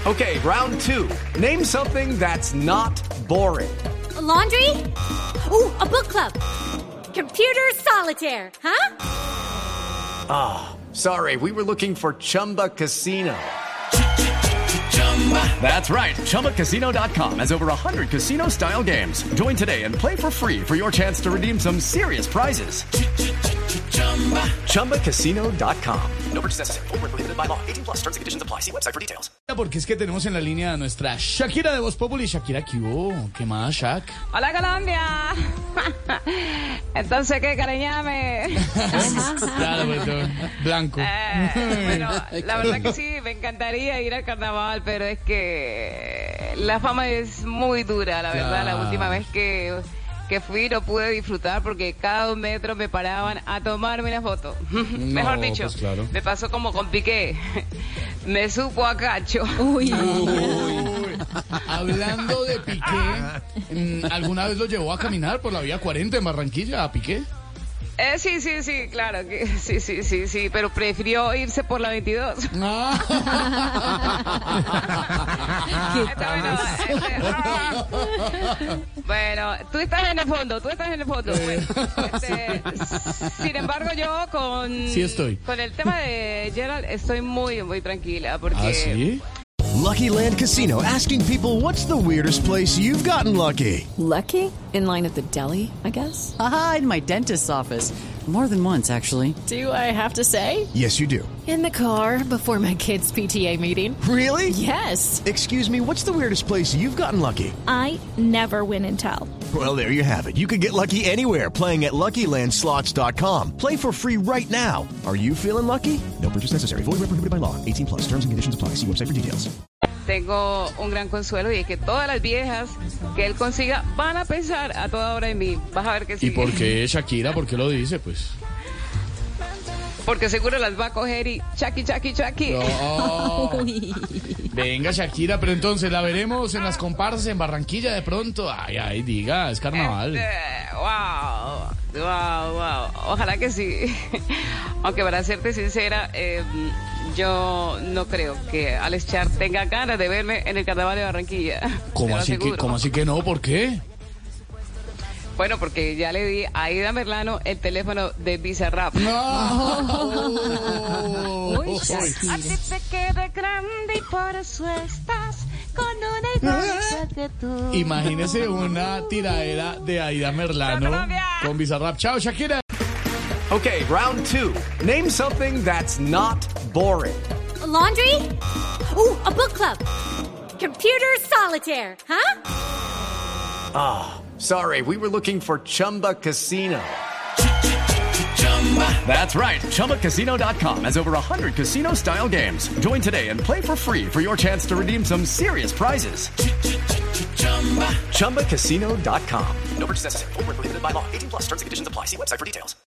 Okay, round two. Name something that's not boring. A laundry? Ooh, a book club. Computer solitaire, huh? Sorry, we were looking for Chumba Casino. That's right. ChumbaCasino.com has over 100 casino-style games. Join today and play for free for your chance to redeem some serious prizes. ChumbaCasino.com. No purchase necessary. Void where prohibited by law. 18 plus. Terms and conditions apply. See website for details. Porque es que tenemos en la línea a nuestra Shakira de Voz Populi. Shakira, ¿qué hubo? ¿Qué más, Shak? Hola, Colombia. Entonces, ¿qué, cariñame? Claro, pues, blanco. Bueno, la verdad que sí, me encantaría ir al carnaval, pero es que la fama es muy dura, la verdad. La última vez que fui no pude disfrutar porque cada 2 metros me paraban a tomarme una foto. Mejor dicho, pues claro. Me pasó como con Piqué. Me supo a cacho. Uy. Hablando de Piqué, ¿alguna vez lo llevó a caminar por la vía 40 en Barranquilla a Piqué? Sí, claro que sí, pero prefirió irse por la 22. Bueno, tú estás en el fondo. Sin embargo, yo Sí estoy. con el tema de Gerald estoy muy, muy tranquila porque... ¿Ah, sí? Lucky Land Casino, asking people, what's the weirdest place you've gotten lucky? Lucky? In line at the deli, I guess? Aha, in my dentist's office. More than once, actually. Do I have to say? Yes, you do. In the car before my kids' PTA meeting. Really? Yes. Excuse me, what's the weirdest place you've gotten lucky? I never win and tell. Well, there you have it. You can get lucky anywhere, playing at LuckyLandSlots.com. Play for free right now. Are you feeling lucky? No purchase necessary. Void where prohibited by law. 18 plus. Terms and conditions apply. See website for details. Tengo un gran consuelo y es que todas las viejas que él consiga van a pensar a toda hora en mí. Vas a ver que sí. ¿Y por qué, Shakira? ¿Por qué lo dice? Pues... Porque seguro las va a coger y Chucky. No. Venga, Shakira, pero entonces la veremos en las comparsas en Barranquilla de pronto. Ay, diga, es carnaval. Wow. Ojalá que sí. Aunque para serte sincera, yo no creo que Alex Char tenga ganas de verme en el carnaval de Barranquilla. ¿Cómo así que no? ¿Por qué? Bueno, porque ya le di a Aida Merlano el teléfono de Bizarrap. Uy, Shakira. A ti te queda grande y por eso estás con una igual que tú. Imagínese una tiradera de Aida Merlano con Bizarrap. Chao, Shakira. Okay, round two. Name something that's not boring. A laundry? Ooh, a book club. Computer solitaire, huh? Sorry, we were looking for Chumba Casino. That's right. ChumbaCasino.com has over 100 casino-style games. Join today and play for free for your chance to redeem some serious prizes. ChumbaCasino.com. No purchase necessary. Void where prohibited by law. 18 plus. Terms and conditions apply. See website for details.